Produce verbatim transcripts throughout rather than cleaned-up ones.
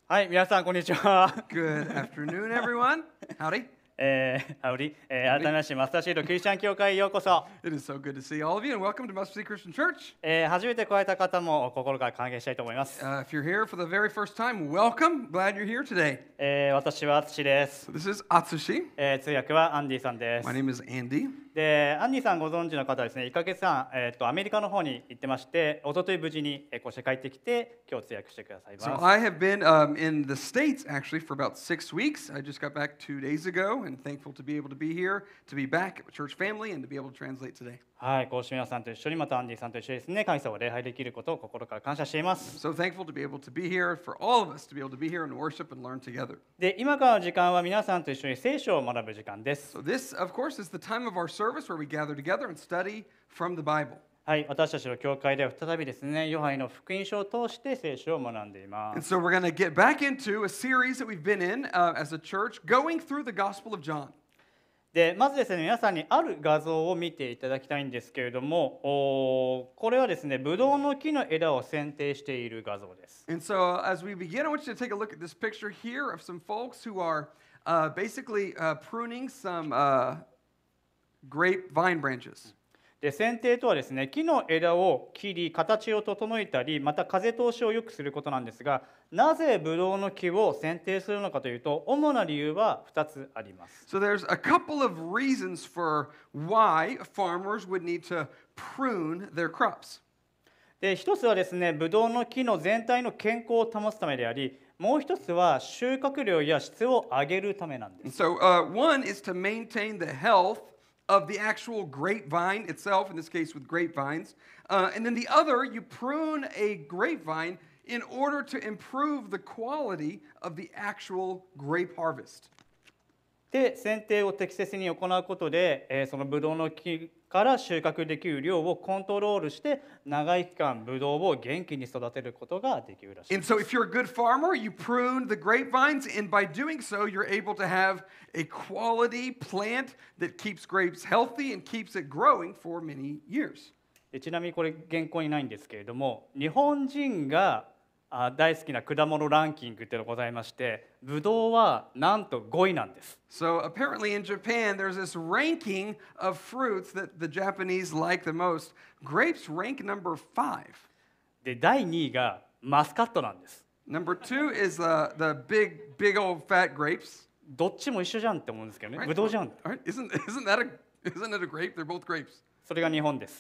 はい、皆さんこんにちは。 Good afternoon, everyone. Howdy. えー、ハウリ、えー、改めましてマスターシードクリスチャン教会へようこそ。 It is so good to see all of you, and welcome to Mustard Seed Christian Church. えー、初めて来られた方も心から歓迎したいと思います。 Uh, if you're here for the very first time, welcome. Glad you're here today. えー、私は淳です。 So this is Atsushi. えー、通訳はアンディさんです。 My name is Andy. で、アンディさんご存知の方はですね、いっかげつかん、えー、とアメリカの方に行ってまして、一昨日無事にえーこうして帰ってきて、今日通訳してくださいます。 So I have been um, in the States actually for about six weeks. I just got back two days ago, and thankful to be able to be here, to be back at church family, and to be able to translate today. はい、こうして皆さんと一緒にまたアンディさんと一緒にですね、神様を礼拝できることを心から感謝しています。 So thankful to be able to be here, for all of us to be able to be here and worship and learn together. で、今からの時間は皆さんと一緒に聖書を学ぶ時間です。 So this, of course, is the time of our service where we gather together and study from the Bible. はい、私たちの教会では再びですね、ヨハネの福音書を通して聖書を学んでいま And す。 so we're going to get back into a series that we've been in uh, as a church, going through the Gospel of John. で、まずですね、皆さんにある画像を見ていただきたいんですけれども、おこれはですね、ブドウの木の枝を剪定している画像です。 And so as we begin, I want you to take a look at this picture here of some folks who are uh, basically uh, pruning some uh, grapevine branches. で、剪定とはですね、木の枝を切り、形を整えたり、また風通しを良くすることなんですが、なぜブドウの木を剪定するのかというと、主な理由はふたつあります。 So there's a couple of reasons for why farmers would need to prune their crops. で、一つはですね、ブドウの木の全体の健康を保つためであり、もう一つは収穫量や質を上げるためなんです。 And so uh, one is to maintain the health of the actual grapevine itself, in this case with grapevines. Uh, and then the other, you prune a grapevine in order to improve the quality of the actual grape harvest. で、剪定を適切に行うことで、えーそのブドウの木から収穫できる量をコントロールして、長い期間ブドウを元気に育てることができるらしい。 And so if you're a good farmer, you prune the grapevines, and by doing so, you're able to have a quality plant that keeps grapes healthy and keeps it growing for many years. でちなみにこれ原稿にないんですけれども、日本人があ大好きな果物ランキングっていうのがございまして、ブドウはなんとごいなんです。 So apparently in Japan, there's this ranking of fruits that the Japanese like the most. Grapes rank number five. で、だいにいがマスカットなんです。 Number two is uh, the big, big old fat grapes. どっちも一緒じゃんって思うんですけどね。 Right? ブドウじゃん。 Right? Isn't, isn't, that a, isn't it a grape? They're both grapes. それが日本です。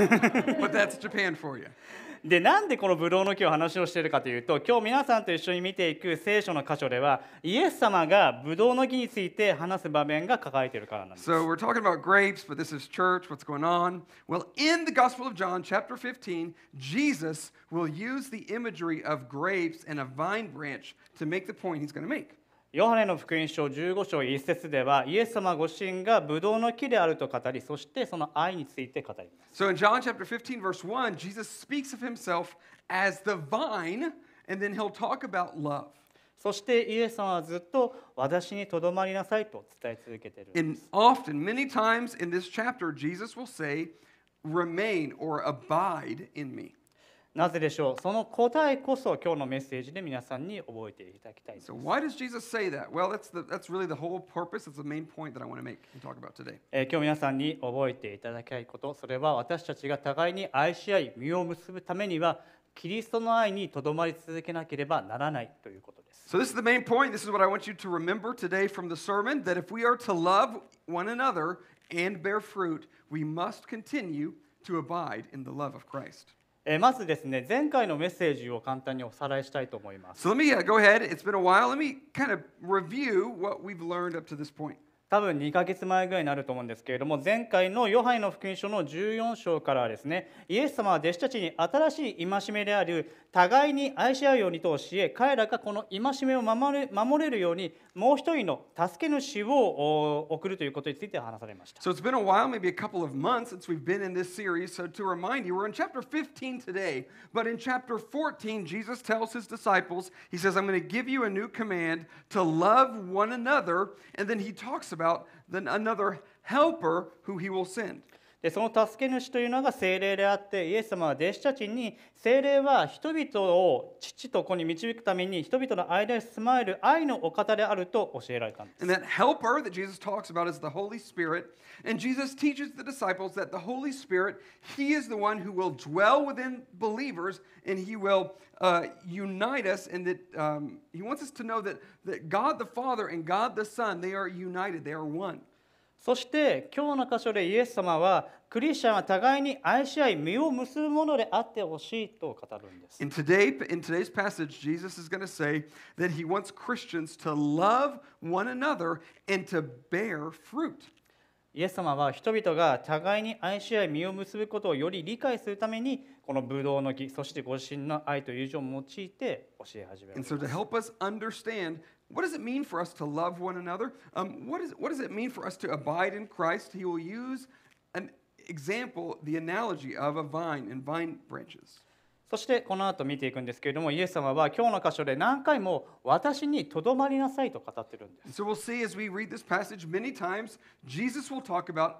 But that's Japan for you. で、なんでこのブドウの木を話をしているかというと、今日皆さんと一緒に見ていく聖書の箇所では、イエス様がブドウの木について話す場面が書かれているからなんです。 So we're talking about grapes, but this is church. What's going on? Well, in the Gospel of John, chapter fifteen, Jesus will use the imagery of grapes and a vine branch to make the point he's going to make. ヨハネの福音書じゅうご章いち節では、イエス様ご自身がブドウの木であると語り、そしてその愛について語ります。 So in John chapter fifteen, verse one, Jesus speaks of himself as the vine, and then he'll talk about love. そしてイエス様はずっと私にとどまりなさいと伝え続けているんで And す。 often, many times in this chapter, Jesus will say, remain or abide in me. なぜでしょう。その答えこそ今日のメッセージで皆さんに覚えていただきたいです。 So why does Jesus say that? Well, that's, the, that's really the whole purpose. It's the main point that I want to make and talk about today. えー今日皆さんに覚えていただきたいこと、それは私たちが互いに愛し合い、実を結ぶためには、キリストの愛にとどまり続けなければならないということです。 So this is the main point. This is what I want you to remember today from the sermon, that if we are to love one another and bear fruit, we must continue to abide in the love of Christ. えーまずですね、前回のメッセージを簡単におさらいしたいと思います。 So let me uh, go ahead. It's been a while. Let me kind of review what we've learned up to this point. 多分にかげつまえぐらいになると思うんですけれども、前回のヨハネの福音書のじゅうよん章からはですね、イエス様は弟子たちに新しい戒めである互いに愛し合うようにと教え、彼らがこの戒めを守れ、守れるようにもう一人の助け主をお送るということについて話されました。 So it's been a while, maybe a couple of months since we've been in this series. So to remind you, we're in chapter fifteen today, but in chapter fourteen, Jesus tells his disciples, he says, I'm going to give you a new command to love one another, and then he talks about then another helper who he will send. でその助け主というのが聖霊であって、イエス様は弟子たちに聖霊は人々を父と子に導くために人々の間に住まえる愛のお方であると教えられたんです。 And that helper that Jesus talks about is the Holy Spirit. And Jesus teaches the disciples that the Holy Spirit, He is the one who will dwell within believers and He will uh, unite us. And that um, He wants us to know that, that God the Father and God the Son, they are united, they are one. そして今日の箇所でイエス様はクリスチャンは互いに愛し合い実を結ぶものであってほしいと語るんです。 In, today, in today's passage, Jesus is going to say that He wants Christians to love one another and to bear fruit. イエス様は人々が互いに愛し合い実を結ぶことをより理解するためにこのブドウの木、そしてご自身の愛と友情を用いて教え始めるん And です。 so to help us understand what does it mean for us to love one another, um, what, is, what does it mean for us to abide in Christ, He will use an example, the analogy of a vine and vine branches. そしてこの後見ていくんですけれども、イエス様は今日の箇所で何回も私にとどまりなさいと語ってるんです。 And so we'll see as we read this passage many times, Jesus will talk about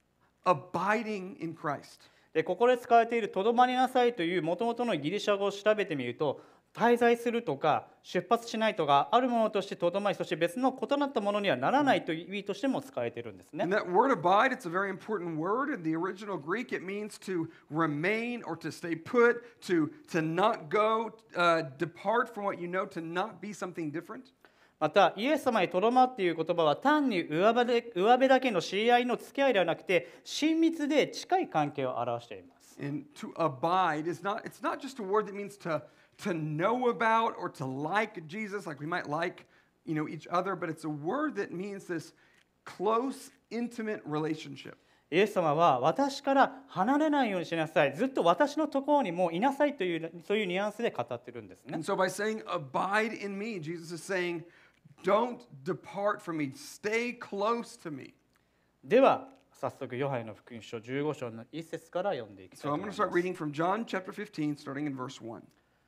abiding in Christ. でここで使われているとどまりなさいというもともとのギリシャ語を調べてみると、滞在するとか出発しないとかあるものとしてとどまり、そして別の異なったものにはならないという意味としても使われているんですね。 And that word abide, it's a very important word. In the original Greek, it means to remain or to stay put, to, to not go, uh, depart from what you know, to not be something different. またイエス様にとどまっている言葉は単に上辺で上辺だけの知り合いの付き合いではなくて親密で近い関係を表しています。 And to abide is not, it's not just a word that means to, to know about or to like Jesus, like we might like, you know, each other, but it's a word that means this close, intimate relationship. イエス様は私から離れないようにしなさい、ずっと私のところにもいなさいというそういうニュアンスで語ってるんですね。 And so by saying abide in me, Jesus is saying, don't depart from me, stay close to me. では早速ヨハネの福音書じゅうご章の一節から読んでいきたいと So 思 I'm い going ま to す。 start reading from John chapter fifteen, starting in verse one.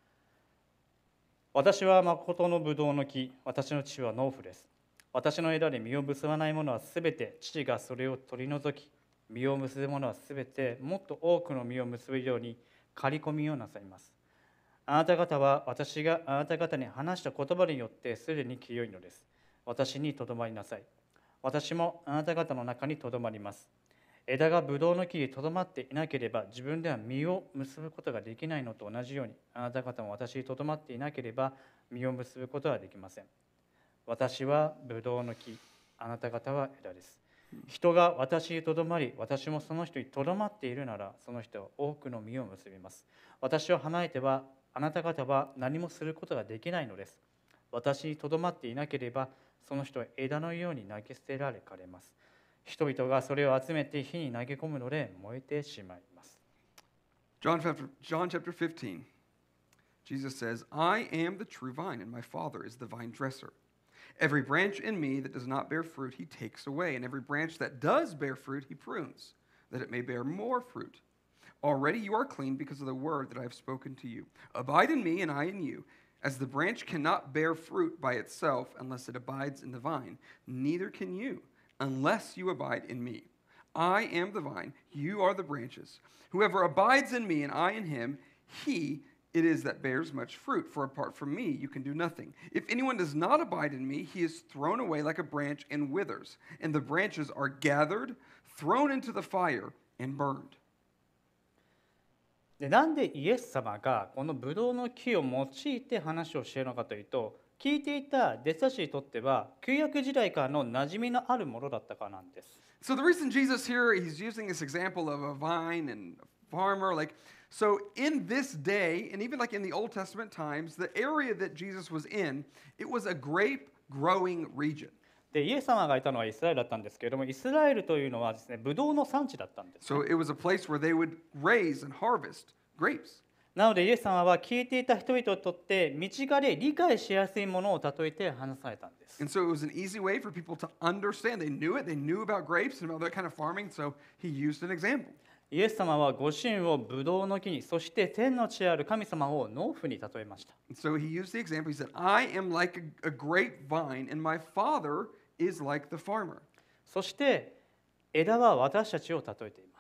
私は誠のブドウの木、私の父は農夫です。私の枝で実を結ばないものはすべて父がそれを取り除き、実を結ぶものはすべてもっと多くの実を結ぶように刈り込みをなさいます。あなた方は私があなた方に話した言葉によってすでに清いのです。私にとどまりなさい。私もあなた方の中にとどまります。枝がブドウの木にとどまっていなければ自分では実を結ぶことができないのと同じように、あなた方も私にとどまっていなければ実を結ぶことはできません。私はブドウの木、あなた方は枝です。人が私にとどまり、私もその人にとどまっているなら、その人は多くの実を結びます。私を離れては、あなた方は何もすることができないのです。私にとどまっていなければ、その人は枝のように投げ捨てられかれます。人々がそれを集めて火に投げ込むので燃えてしまいます。 John chapter, John chapter fifteen, Jesus says, I am the true vine, and my Father is the vine dresser. Every branch in me that does not bear fruit, he takes away, and every branch that does bear fruit, he prunes, that it may bear more fruit. Already you are clean because of the word that I have spoken to you. Abide in me, and I in you. As the branch cannot bear fruit by itself unless it abides in the vine, neither can you unless you abide in me. I am the vine, you are the branches. Whoever abides in me and I in him, he it is that bears much fruit, for apart from me you can do nothing. If anyone does not abide in me, he is thrown away like a branch and withers, and the branches are gathered, thrown into the fire, and burned. でなんでイエス様がこのブドウの木を用いて話をしているのかというと、聞いていた弟子たちにとっては旧約時代からの馴染みのあるものだったからなんです。 So the reason Jesus here, he's using this example of a vine and a farmer, like, so in this day, and even like in the Old Testament times, the area that Jesus was in, it was a grape growing region. でイエス様がいたのはイスラエルだったんですけれども、イスラエルというのはですね、ブドウの産地だったんです、ね。 So it was a place where they would raise and harvest grapes. なのでイエス様は聞いていた人々にとって身近で理解しやすいものを例えて話されたんです。 And so it was an easy way for people to understand. They knew it, they knew about grapes and about that kind of farming, so he used an example. イエス様はご自身をブドウの木に、そして天の地である神様を農夫に例えました。 And so he used the example. He said, I am like a, a grapevine, and my father is like the farmer. そして枝は私たちを例えています。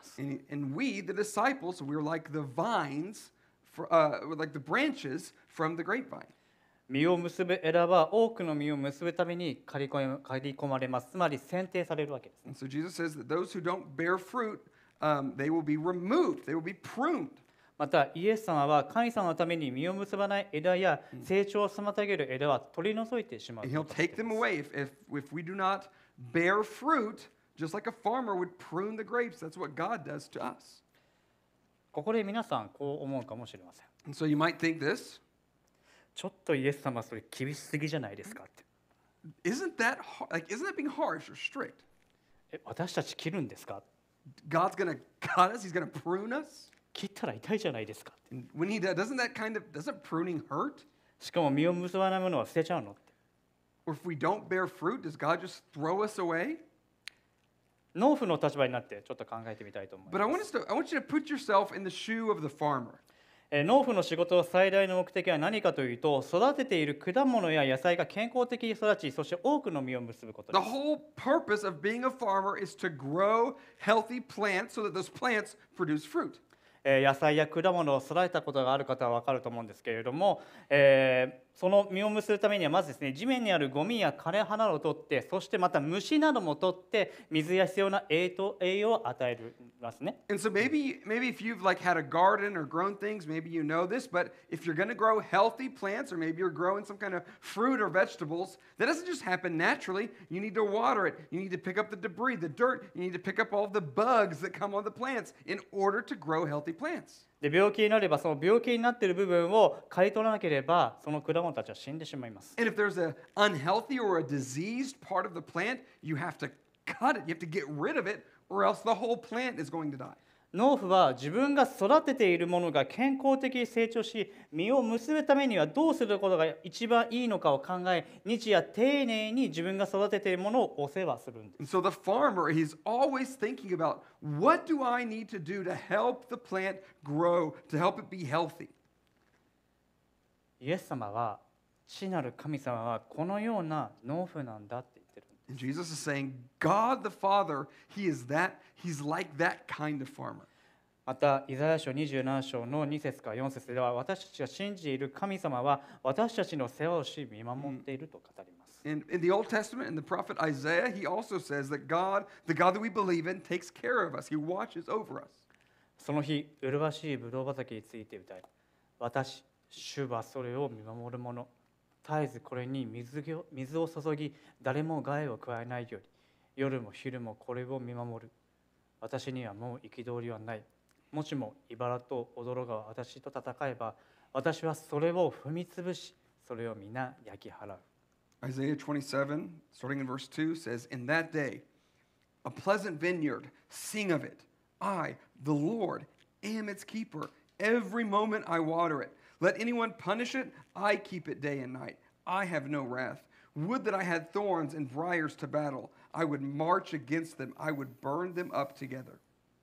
す。 And, and we, the disciples, we're like the vines, for, uh, we're like the branches from the grapevine. 実を結ぶ枝は多くの実を結ぶために刈り込め刈り込まれます。つまり剪定されるわけですね。 And so Jesus says that those who don't bear fruit, um, they will be removed, they will be pruned. またイエス様は神様のために実を結ばない枝や成長を妨げる枝は取り除いてしまう And と he'll 語ってい take ま them す。 away. If, if, if we do not bear fruit, just like a farmer would prune the grapes, that's what God does to us. ここで皆さんこう思うかもしれません。 And so you might think this, ちょっとイエス様それ厳しすぎじゃないですかって。 isn't that, har- like, isn't that being harsh or strict? え、私たち切るんですか？ God's going to cut us, he's going to prune us. 切ったら痛いじゃないですかって。 And when he does, doesn't that kind of, doesn't pruning hurt? しかも実を結ばないものは捨てちゃうのって。 Or if we don't bear fruit, does God just throw us away? 農夫の立場になってちょっと考えてみたいと思い But I ま want す。 us to, I want you to put yourself in the shoe of the farmer. えー農夫の仕事の最大の目的は何かというと、育てている果物や野菜が健康的に育ち、そして多くの実を結ぶこと The です。 whole purpose of being a farmer is to grow healthy plants so that those plants produce fruit. えー野菜や果物を育てたことがある方は分かると思うんですけれども、えーその実を結ぶためにはまずですね、地面にあるゴミや枯れ葉を取って、そしてまた虫なども取って水や必要な栄養栄養を与えますね。 And so maybe maybe if you've like had a garden or grown things, maybe you know this, but if you're going to grow healthy plants or maybe you're growing some kind of fruit or vegetables, that doesn't just happen naturally. You need to water it. You need to pick up the debris, the dirt. You need to pick up all the bugs that come on the plants in order to grow healthy plants. で病気になればその病気になっている部分を刈り取らなければその果物たちは死んでしまいます。 And if there's an unhealthy or a diseased part of the plant, you have to cut it. You have to get rid of it or else the whole plant is going to die. 農夫は自分が育てているものが健康的に成長し実を結ぶためにはどうすることが一番いいのかを考え、日夜丁寧に自分が育てているものをお世話するんです。 And so the farmer, he's always thinking about what do I need to do to help the plant grow, to help it be healthy. イエス様は、父なる神様はこのような農夫なんだって言ってる。 And Jesus is saying, God the Father, he is that, he's like that kind of farmer. また、イザヤ書にじゅうなな章のに節からよん節では、私たちが信じている神様は私たちの世話をし見守っていると語ります。 And in the Old Testament, in the prophet Isaiah, he also says that God, the God that we believe in, takes care of us. He watches over us. その日、麗しいブドウ畑について歌い、私、主はそれを見守る者。絶えずこれに水を水を注ぎ、誰も害を加えないように、夜も昼もこれを見守る。私にはもう憤りはない。もしも茨と驚が私と戦えば、私はそれを踏み潰し、それを皆焼き払う。 Isaiah twenty-seven, starting in verse two, says, In that day, a pleasant vineyard, sing of it. I, the Lord, am its keeper. Every moment I water it. Let anyone punish it, I keep it day and night. I have no wrath. Would that I had thorns and briars to battle. I would march against them. I would burn them up together.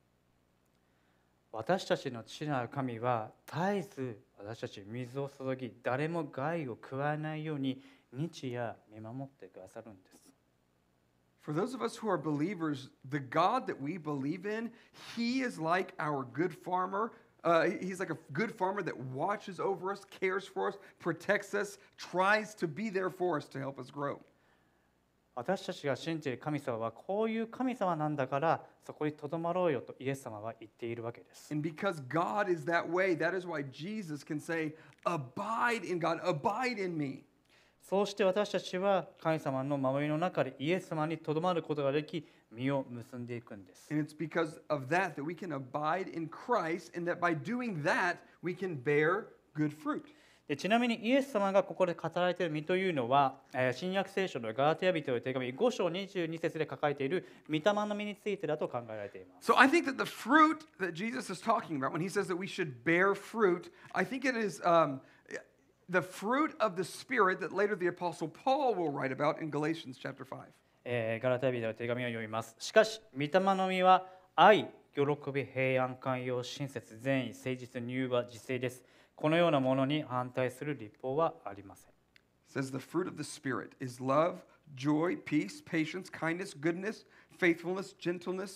私たちの父なる神は絶えず私たちに水を注ぎ、誰も害を加えないように日夜見守ってくださるんです。 For those of us who are believers, the God that we believe in, he is like our good farmer. Uh, he's like a good farmer that watches over us, cares for us, protects us, tries to be there for us to help us grow. 私たちが信じる神様はこういう神様なんだからそこにとどまろうよとイエス様は言っているわけです。 And because God is that way, that is why Jesus can say, Abide in God, abide in me. そうして私たちは神様の守りの中でイエス様にとどまることができ、実を結んでいくんです。 And it's because of that that we can abide in Christ, and that by doing that, we can bear good fruit. でちなみにイエス様がここで語られている実というのは、えー新約聖書のガラテヤ人への手紙ご章にじゅうに節で書かれている御霊の実についてだと考えられています。 So I think that the fruit that Jesus is talking about when he says that we should bear fruit, I think it is um, the fruit of the Spirit that later the Apostle Paul will write about in Galatians chapter five. えーガラテヤ人への手紙を読みます。しかし、御霊の実は愛、喜び、平安、寛容、親切、善意、誠実、柔和、自制です。このようなものに反対する立法はありません。 It says the fruit of the Spirit is love, joy, peace, patience, kindness, goodness, faithfulness, gentleness,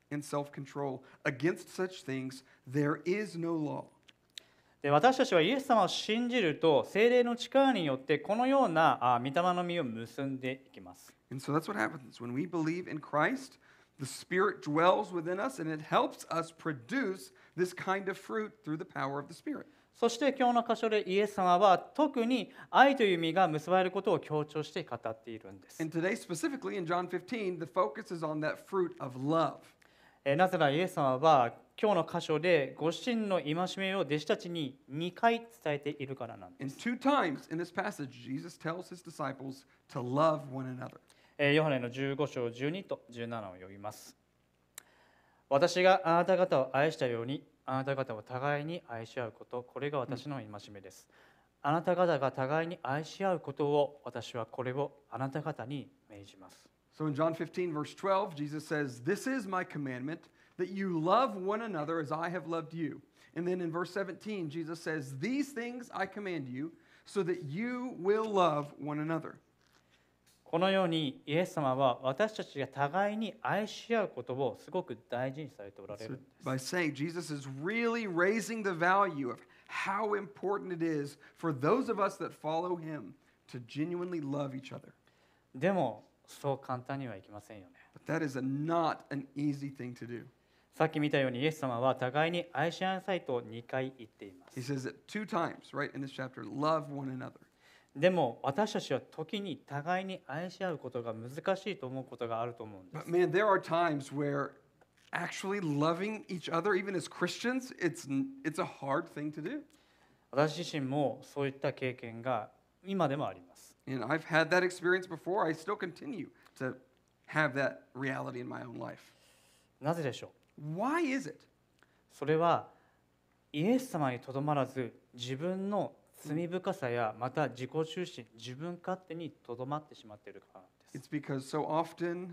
and self-control. Against such things, there is no law. で私たちはイエス様を信じると聖霊の力によってこのようなあ御霊の実を結んでいきます。 And so that's what happens. When we believe in Christ, the Spirit dwells within us and it helps us produce this kind of fruit through the power of the Spirit. そして今日の箇所でイエス様は特に愛という実が結ばれることを強調して語っているんです。 And today specifically in John fifteen, the focus is on that fruit of love. えなぜならイエス様は今日の箇所でご自身の戒めを弟子たちににかい伝えているからなんで And す。 two times in this passage, Jesus tells his disciples to love one another. えーヨハネのじゅうご章じゅうにとじゅうななを読みます。私があなた方を愛したようにあなた方を互いに愛し合うこと、これが私の戒めです。あなた方が互いに愛し合うことを私はこれをあなた方に命じます。 So in John fifteen, verse twelve, Jesus says, This is my commandment, that you love one another as I have loved you. And then in verse seventeen, Jesus says, These things I command you, so that you will love one another. このようにイエス様は私たちが互いに愛し合うことをすごく大事にされておられ So るんです。 by saying Jesus is really raising the value of how important it is for those of us that follow him to genuinely love each other. でもそう簡単にはいきませんよね。 But that is a, not an easy thing to do. さっき見たようにイエス様は互いに愛し合いなさいとにかい言っていま He す。 says it two times, right, in this chapter, love one another. でも私たちは時に互いに愛し合うことが難しいと思うことがあると思うんで But す。 man, there are times where actually loving each other, even as Christians, it's, it's a hard thing to do. 私自身もそういった経験が今でもあります。 And I've had that experience before. I still continue to have that reality in my own life. なぜでしょう。 Why is it? それはイエス様にとどまらず自分の罪深さやまた自己中心、自分勝手にとどまってしまっているからなんです。 It's because so often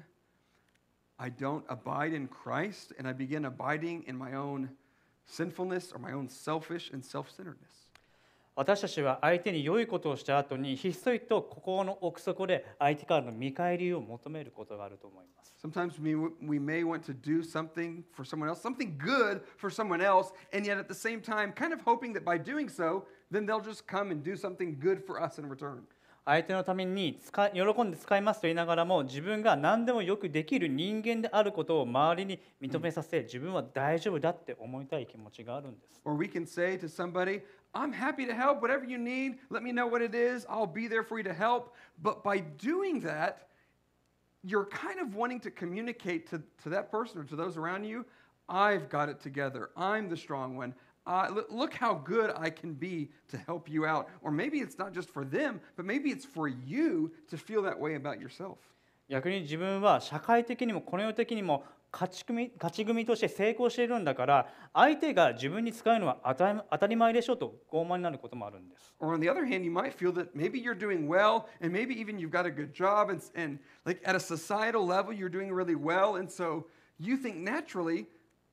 I don't abide in Christ and I begin abiding in my own sinfulness or my own selfish and self-centeredness. 私たちは相手に良いことをした後にひっそりと心の奥底で相手からの見返りを求めることがあると思います。 Sometimes we, we may want to do something for someone else, something good for someone else, and yet at the same time, kind of hoping that by doing so, then they'll just come and do something good for us in return. 相手のために使い喜んで使いますと言いながらも自分が何でもよくできる人間であることを周りに認めさせ自分は大丈夫だって思いたい気持ちがあるんです。 Or we can say to somebody, I'm happy to help, whatever you need, let me know what it is, I'll be there for you to help. But by doing that, you're kind of wanting to communicate to, to that person or to those around you, I've got it together, I'm the strong one. Uh, look, look how good I can be to help you out. Or maybe it's not just for them, but maybe it's for you to feel that way about yourself. 逆に自分は社会的にもこの世的にも勝ち組勝ち組として成功しているんだから相手が自分に使うのは当たり当たり前でしょと傲慢になることもあるんです。 Or on the other hand, you might feel that maybe you're doing well, and maybe even you've got a good job, and, and like at a societal level, you're doing really well, and so you think naturally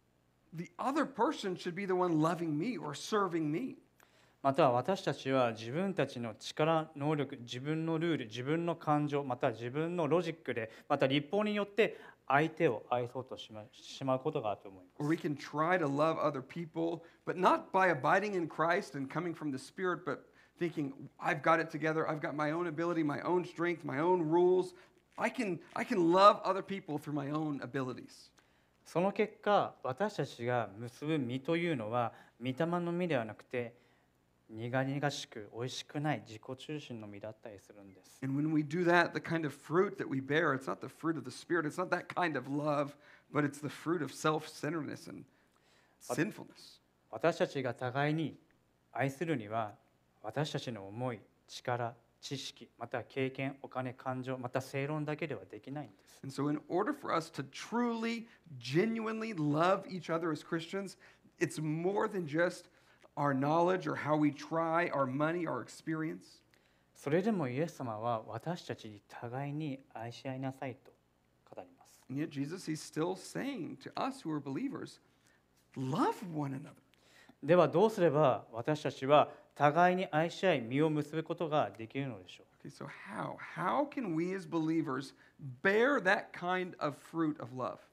the other person should be the one loving me or serving me. また私たちは自分たちの力、能力、自分のルール、自分の感情、また自分のロジックで、また立法によって相手を愛そうとしましまうことがあると思いま Or す。 we can try to love other people, but not by abiding in Christ and coming from the Spirit, but thinking, I've got it together, I've got my own ability, my own strength, my own rules. I can, I can love other people through my own abilities. その結果、私たちが結ぶ実というのは、御霊の実ではなくて、苦々しく美味しくない自己中心の実だったりするんです。 And when we do that, the kind of fruit that we bear, it's not the fruit of the Spirit, it's not that kind of love, but it's the fruit of self-centeredness and sinfulness. 私たちが互いに愛するには、私たちの思い、力、知識、また経験、お金、感情、また正論だけではできないんです。 And so in order for us to truly, genuinely love each other as Christians, it's more than just our knowledge or how we try, our money, our experience. それでもイエス様は私たちに互いに愛し合いなさいと語ります。 And yet Jesus, he's still saying to us who are believers, love one another. ではどうすれば私たちは互いに愛し合い実を結ぶことができるのでしょう。 Okay, so how? How can we as believers bear that kind of fruit of love?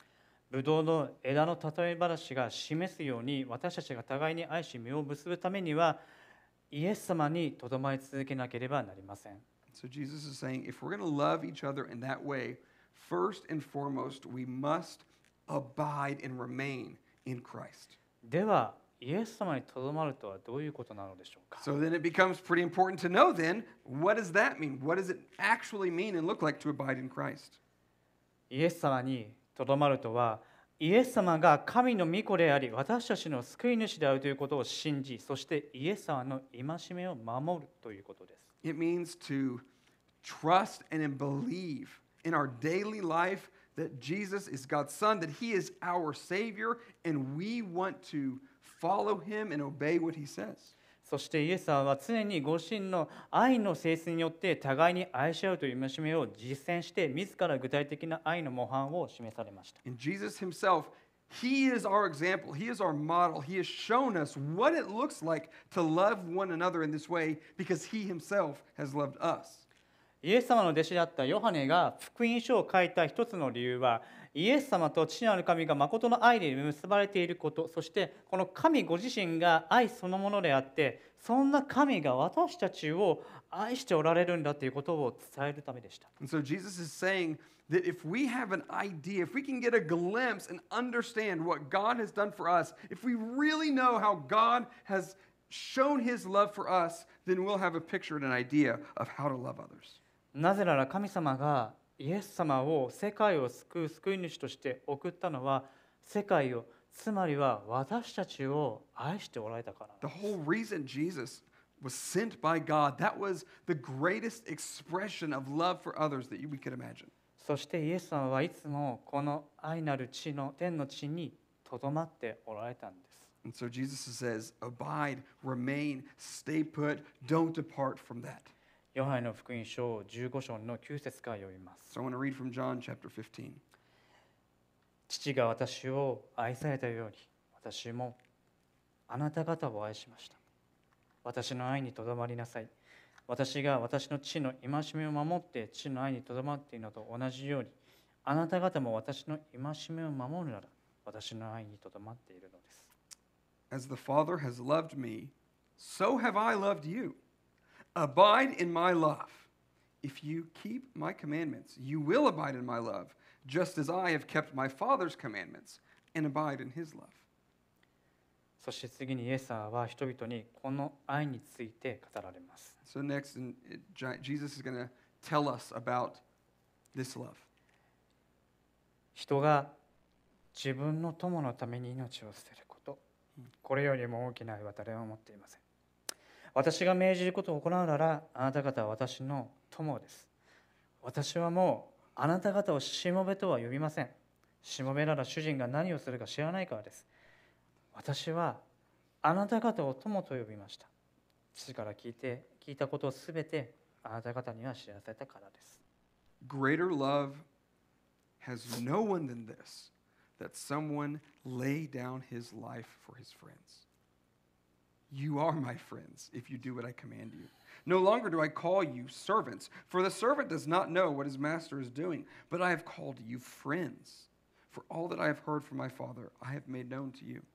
ブドウの枝の例え話が示すように、私たちが互いに愛し実を結ぶためには、イエス様にとどまり続けなければなりません。 So Jesus is saying, if we're going to love each other in that way, first and foremost, we must abide and remain in Christ. では、イエス様にとどまるとはどういうことなのでしょうか。 So then it becomes pretty important to know then, what does that mean? What does it actually mean and look like to abide in Christ? イエス様にとどまるとは、イエス様が神の御子であり、私たちの救い主であるということを信じ、そしてイエス様の戒めを守るということです。 It means to trust and believe in our daily life that Jesus is God's Son, that He is our Savior, and we want to follow Him and obey what He says. そしてイエス様は常にご自身の愛の性質によって互いに愛し合うという戒めを実践して、自ら具体的な愛の模範を示されました。 And Jesus Himself, He is our example. He is our model. He has shown us what it looks like to love one another in this way because He Himself has loved us. イエス様の弟子であったヨハネが福音書を書いた一つの理由は、イエス様と父なる神が誠の愛で結ばれていること、そしてこの神ご自身が愛そのものであって、そんな神が私たちを愛しておられるんだということを伝えるためでした。 And so Jesus is saying that if we have an idea, if we can get a glimpse and understand what God has done for us, if we really know how God has shown His love for us, then we'll have a picture and an idea of how to love others. なぜなら神様がイエス様を世界を救う救い主として送ったのは、世界を、つまりは私たちを愛しておられたから。 The whole reason Jesus was sent by God, that was the greatest expression of love for others that we could imagine. そしてイエス様はいつもこの愛なる地の天の地にとどまっておられたんです。 And so Jesus says, abide, remain, stay put, don't depart from that. ヨハネの福音書じゅうご章のきゅう節から読みます。 So I want to read from John chapter fifteen. 父が私を愛されたように、私もあなた方を愛しました。私の愛にとどまりなさい。私が私の父の戒めを守って父の愛にとどまっているのと同じように、あなた方も私の戒めを守るなら、私の愛にとどまっているのです。 As the Father has loved me, so have I loved you. Abide in my love. If you keep my commandments, you will abide in my love, just as I have kept my Father's commandments and abide in his love. そして次にイエス様は人々にこの愛について語られます。 So next, in, it, Jesus is going to tell us about this love. 人が自分の友のために命を捨てること、これよりも大きな愛は誰も持っていません。私が命じることを行うなら、あなた方は私の友です。私はもうあなた方をしもべとは呼びません。しもべなら主人が何をするか知らないからです。私はあなた方を友と呼びました。父から聞いて聞いたことをすべてあなた方には知らせたからです。 Greater love has no one than this, that someone lay down his life for his friends. You are my friends if you do what I command you. No longer do I call you servants, for the servant does not know what his master is doing, but I have called you friends. For all that I have heard from my Father, I have made known to you.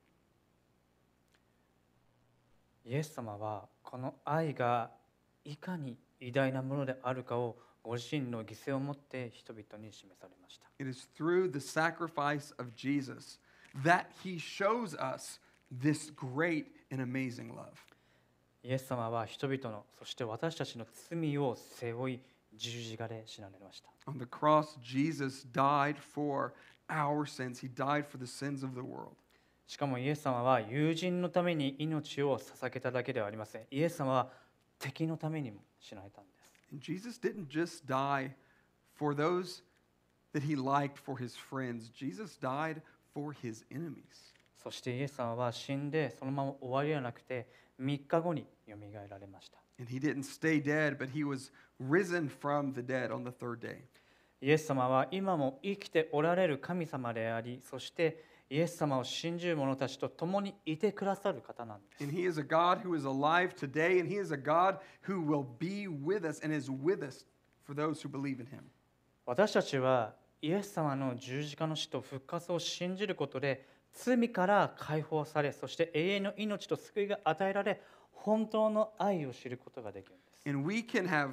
イエス様はこの愛がいかに偉大なものであるかをご自身の犠牲をもって人々に示されました。 It is through the sacrifice of Jesus that he shows us this great and amazing love. イエス様は人々の、そして私たちの罪を背負い十字架で死なれました。 On the cross, Jesus died for our sins. He died for the sins of the world. しかもイエス様は友人のために命を捧げただけではありません。イエス様は敵のためにも死なれたんです。 And Jesus didn't just die for those that he liked, for his friends. Jesus died for his enemies. そしてイエス様は死んでそのまま終わりではなくてみっかごによみがえられました。 And he didn't stay dead, but he was risen from the dead on the third day. イエス様は今も生きておられる神様であり、そしてイエス様を信じる者たちと共にいてくださる方なんです。 And he is a God who is alive today, and he is a God who will be with us and is with us for those who believe in him. 私たちはイエス様の十字架の死と復活を信じることで罪から解放され、そして永遠の命と救いが与えられ、本当の愛を知ることができるんです。 And we can have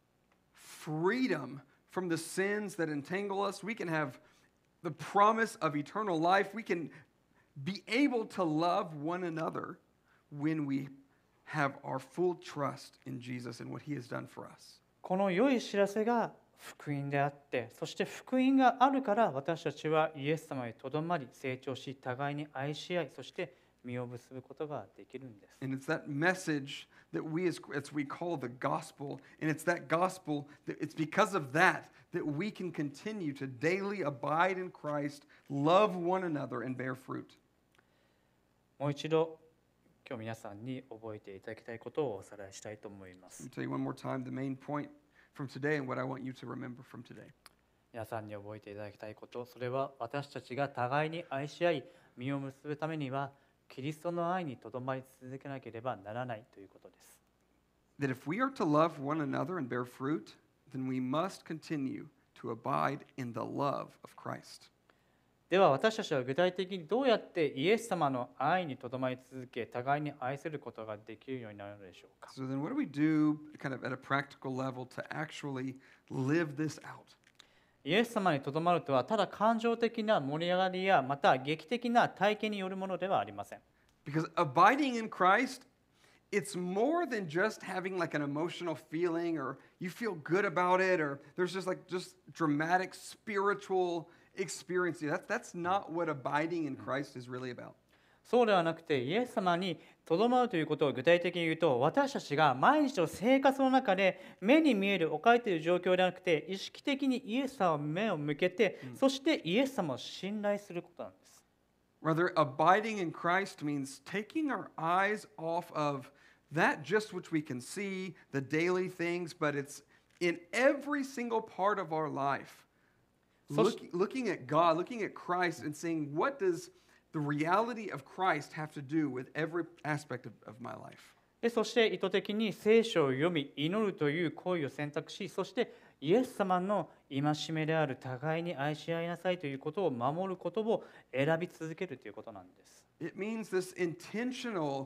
freedom from the sins that entangle us. We can have the promise of eternal life. We can be able to love one another when we have our full trust in Jesus and what he has done for us. この良い知らせが福音であって、そして福音があるから私たちはイエス様にとどまり成長し、互いに愛し合い、そして実を結ぶことができるんです。 And it's that message that we as, as we call the gospel, and it's that gospel that it's because of that that we can continue to daily abide in Christ, love one another, and bear fruit. もう一度今日皆さんに覚えていただきたいことをおさらいしたいと思いま Let す。 me tell you one more time the main point from today and what I want you to remember from today. 皆さんに覚えていただきたいこと、それは私たちが互いに愛し合い、実を結ぶためにはキリストの愛にとどまり続けなければならないということです。 That if we are to love one another and bear fruit, then we must continue to abide in the love of Christ. では私たちは具体的にどうやってイエス様の愛にとどまり続け、互いに愛することができるようになるのでしょうか。 So then what do we do kind of at a practical level to actually live this out? イエス様にとどまるとはただ感情的な盛り上がりやまた劇的な体験によるものではありません。 Because abiding in Christ, it's more than just having like an emotional feeling or you feel good about it or there's just like just dramatic spiritual experience. That's, that's not what abiding in Christ is really about. そうではなくて、イエス様にとどまるということを具体的に言うと、私たちが毎日の生活の中で目に見える置かれている状況ではなくて、意識的にイエス様を目を向けて、そしてイエス様を信頼することなんです。 Rather, abiding in Christ means taking our eyes off of that just which we can see, the daily things, but it's in every single part of our life. So- Look, looking at God, looking at Christ, and saying, what does the reality of Christ have to do with every aspect of, of my life? でそして意図的に聖書を読み、祈るという行為を選択し、そしてイエス様の戒めである互いに愛し合いなさいということを守ることを選び続けるということなんです。 It means this intentional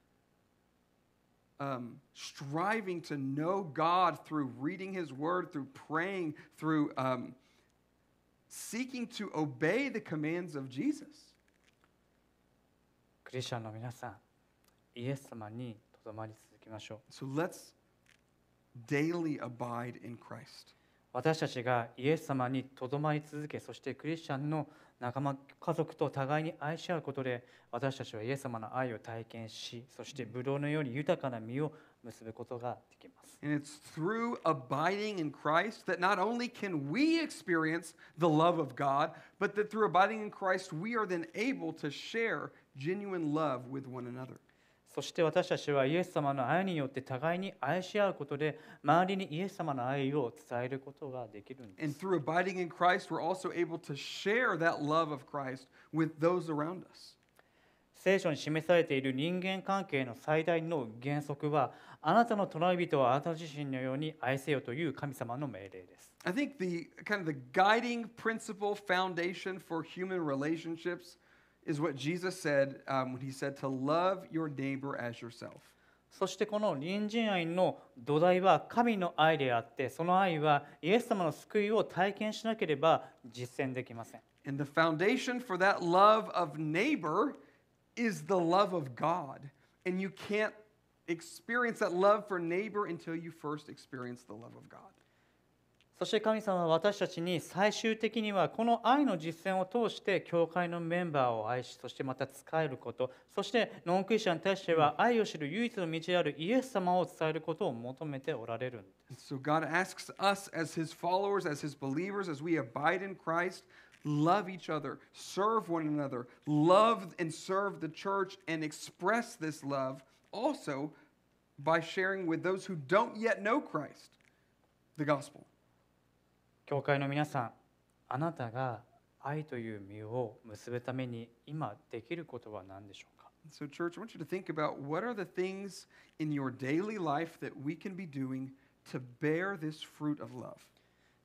um, striving to know God through reading His Word, through praying, through um, seeking to obey the commands of Jesus. クリスチャンの皆さん、イエス様にとどまり続けましょう。 So let's daily abide in Christ. 私たちがイエス様にとどまり続け、そしてクリスチャンの仲間、家族と互いに愛し合うことで、私たちはイエス様の愛を体験し、そしてブドウのように豊かな実を結ぶことができます。 And it's through abiding in Christ that not only can we experience the love of God, but that through abiding in Christ, we are then able to share genuine love with one another. そして私たちはイエス様の愛によって互いに愛し合うことで、周りにイエス様の愛を伝えることができるんで And す。 through abiding in Christ, we're also able to share that love of Christ with those around us. 聖書に示されている人間関係の最大の原則は、あなたの隣人をあなた自身のように愛せよという神様の命令です。 I think the kind of the guiding principle foundation for human relationships is what Jesus said um, when he said to love your neighbor as yourself. そしてこの隣人愛の土台は神の愛であって、その愛はイエス様の救いを体験しなければ実践できません。 And the foundation for that love of neighbor is the love of God. And you can't experience that love for neighbor until you first experience the love of God. そして神様は私たちに最終的にはこの愛の実践を通して教会のメンバーを愛し、そしてまた仕えること、そしてノンクリスチャンに対しては愛を知る唯一の道であるイエス様を伝えることを求めておられるんです。 So God asks us as his followers, as his believers, as we abide in Christ, love each other, serve one another, love and serve the church, and express this love also by sharing with those who don't yet know Christ, the gospel. 教会の皆さん、あなたが愛という実を結ぶために今できることは何でしょうか。 So, church, I want you to think about what are the things in your daily life that we can be doing to bear this fruit of love.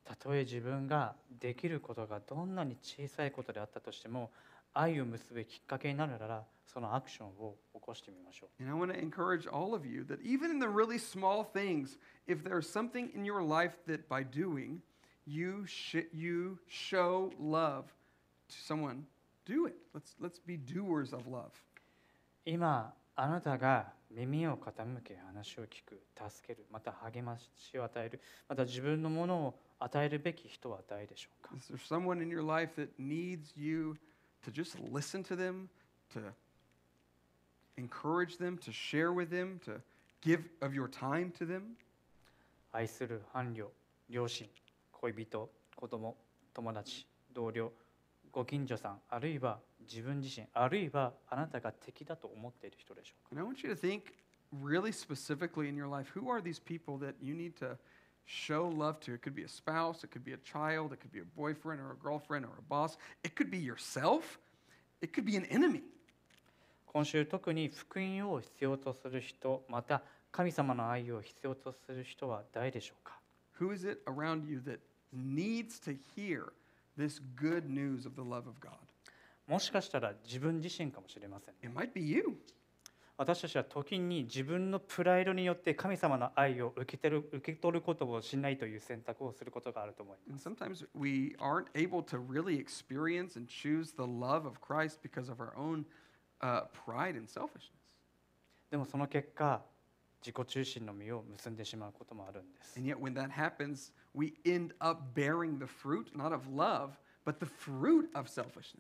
たとえ自分ができることがどんなに小さいことであったとしても、愛を結ぶきっかけになるなら、そのアクションを起こしてみましょう。 And I want to encourage all of you that even in the really small things, if there's something in your life that by doing, you, sh- you show love to someone, do it. Let's, let's be doers of love. 今あなたが耳を傾け話を聞く、助ける、また励ましを与える、また自分のものを与えるべき人は誰でしょうか。 Is there someone in your life that needs you to just listen to them, to encourage them, to share with them, to give of your time to them? 愛する伴侶、両親、恋人、子供、友達、同僚、ご近所さん、あるいは自分自身、あるいはあなたが敵だと思っている人でしょうか。 And I want you to think really specifically in your life, who are these people that you need to show love to? It could be a spouse, it could be a child, it could be a boyfriend or a girlfriend or a boss. It could be yourself. It could be an enemy. 今週特に福音を必要とする人、また神様の愛を必要とする人は誰でしょうか。 Who is it around you that needs to hear this good news of the love of God? もしかしたら自分自身かもしれません。 It might be you. 私たちは時に自分のプライドによって神様の愛を受け取る、受け取ることをしないという選択をすることがあると思いま And す。 sometimes we aren't able to really experience and choose the love of Christ because of our own uh, pride and selfishness. でもその結果、自己中心の実を結んでしまうこともあるんです。 And yet, when that happens, we end up bearing the fruit, not of love, but the fruit of selfishness.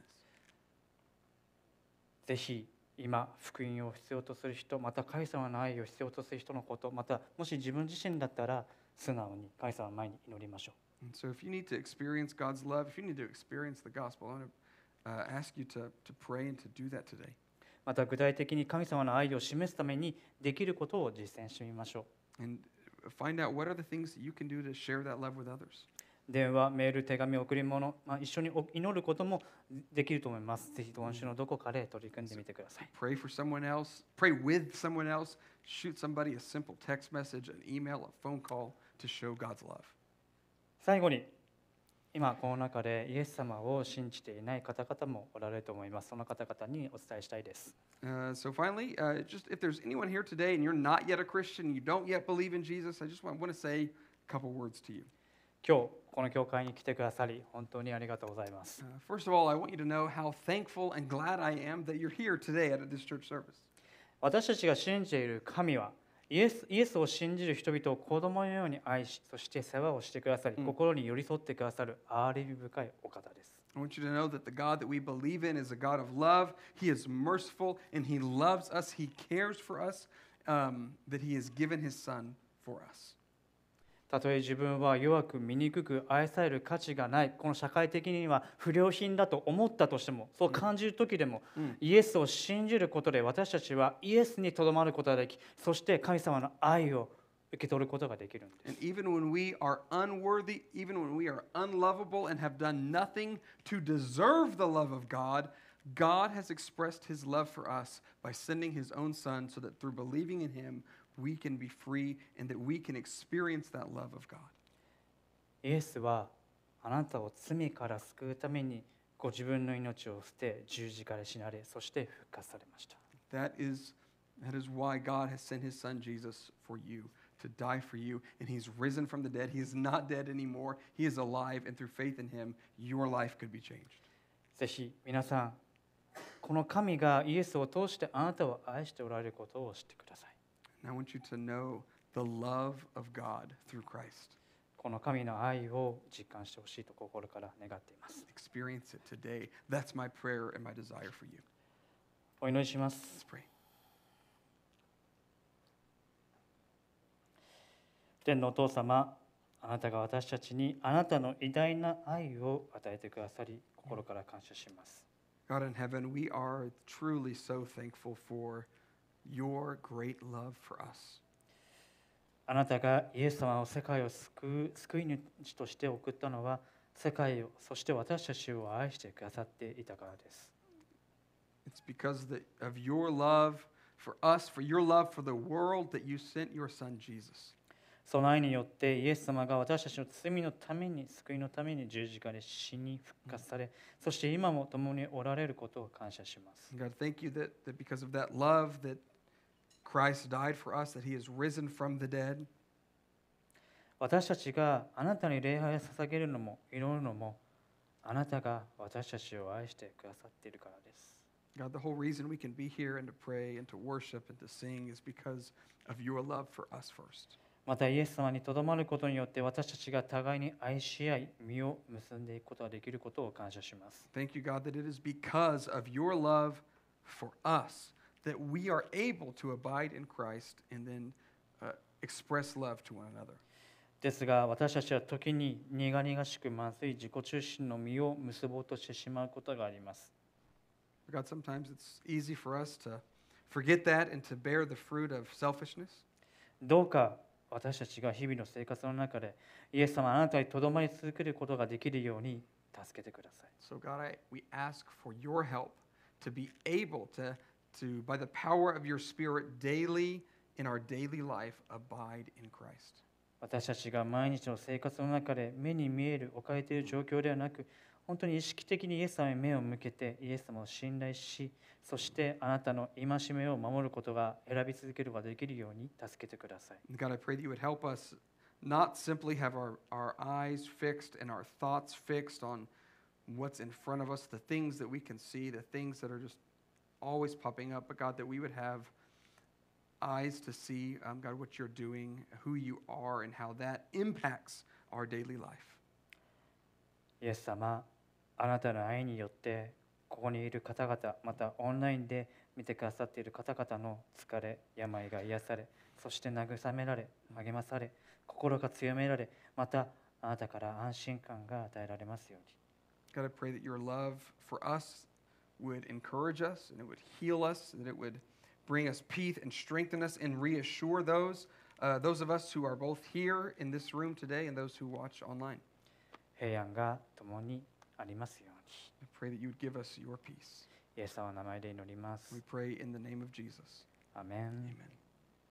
ぜひ今福音を必要とする人、また神様の愛を必要とする人のこと、またもし自分自身だったら素直に神様の前に祈りましょう。 And so, if you need to experience God's love, if you need to experience the gospel, I want to uh, ask you to, to pray and to do that today. また具体的に神様の愛を示すためにできることを実践してみましょう。 And find out what are the things that you can do to share that love with others. 電話、メール、手紙、贈り物、まあ、一緒に祈ることもできると思います。ぜひ今週のどこかで取り組んでみてください。 Pray for someone else, pray with someone else, shoot somebody a simple text message, an email, a phone call to show God's love. 最後に、今この中でイエス様を信じていない方々もおられると思います。その方々にお伝えしたいです。 Uh, so finally, uh, just if there's anyone here today and you're not yet a Christian, you don't yet believe in Jesus, I just want, want to say a couple words to you. 今日この教会に来てくださり本当にありがとうございます。 Uh, first of all, I want you to know how thankful and glad I am that you're here today at this church service. 私たちが信じている神はイエス、イエスを信じる人々を子供のように愛し、そして世話をしてくださり、 うん心に寄り添ってくださる憐れみ深いお方です。 I want you to know that the God that we believe in is a God of love. He is merciful and He loves us. He cares for us, um, that He has given His Son for us. たとえ自分は弱く醜く愛される価値がない、この社会的には不良品だと思ったとしても、そう感じる時でも、 うんイエスを信じることで私たちはイエスにとどまることができ、そして神様の愛を受け取ることができるんです。 And even when we are unworthy, even when we are unlovable and have done nothing to deserve the love of God, God has expressed His love for us by sending His own Son so that through believing in Him, we can be free and that we can experience that love of God. イエスはあなたを罪から救うためにご自分の命を捨て十字架で死なれ、そして復活されました。 That is, that is why God has sent His Son Jesus for you, to die for you, and He's risen from the dead. He is not dead anymore. He is alive, and through faith in Him, your life could be changed. ぜひ皆さん、この神がイエスを通してあなたを愛しておられることを知ってください。 And I want you to know the love of God through Christ. この神の愛を実感してほしいと心から願っています。 Experience it today. That's my prayer and my desire for you. お祈りします。 Let's pray. 天のお父様、あなたが私たちにあなたの偉大な愛を与えてくださり、心から感謝します。 God in heaven, we are truly so thankful for your great love for us. あなたがイエス様を世界を救う救い主として送ったのは、世界を、そして私たちを愛してくださっていたからです。 It's because the, of your love for us, for your love for the world, that you sent your Son Jesus. その愛によってイエス様が私たちの罪のために、救いのために十字架で死に復活され、そして今も共におられることを感謝します。 God, thank you that, that because of that love that Christ died for us, that he has risen from the dead. 私たちがあなたに礼拝を捧げるのも祈るのも、あなたが私たちを愛してくださっているからです。 God, the whole reason we can be here and to pray and to worship and to sing is because of your love for us first. またイエス様にとどまることによって私たちが互いに愛し合い、実を結んでいくことができることを感謝します。 Thank you, God, that it is because of your love for us that we are able to abide in Christ and then uh, express love to one another. ですが私たちは時に苦々しくまずい自己中心の実を結ぼうとしてしまうことがあります。 God, sometimes it's easy for us to forget that and to bear the fruit of selfishness. どうか私たちが日々の生活の中でイエス様あなたにとどまり続けることができるように助けてください。 So, God, I, we ask for your help to be able to, to, by the power of your Spirit, daily in our daily life, abide in Christ. 私たちが毎日の生活の中で目に見える置かれている状況ではなく、本当に意識的にイエス様に目を向けてイエス様を信頼し、そしてあなたの戒めを守ることが選び続けることができるように助けてください。 God, I pray that you would help us not simply have our, our eyes fixed and our thoughts fixed on what's in front of us, the things that we can see, the things that are just always popping up, but God, that we would have eyes to see, um, God, what you're doing, who you are, and how that impacts our daily life. イエス様、あなたの愛によってここにいる方々、またオンラインで見てくださっている方々の疲れ、病が癒され、そして慰められ、励まされ、心が強められ、またあなたから安心感が与えられますように。 God, I pray that your love for us would encourage us and it would heal us, that it would bring us peace and strengthen us and reassure those, uh, those of us who are both here in this room today and those who watch online. 平安が共にありますように。 I pray that you would give us your peace. イエス様の名前で祈ります。 We pray in the name of Jesus. アメン。 Amen.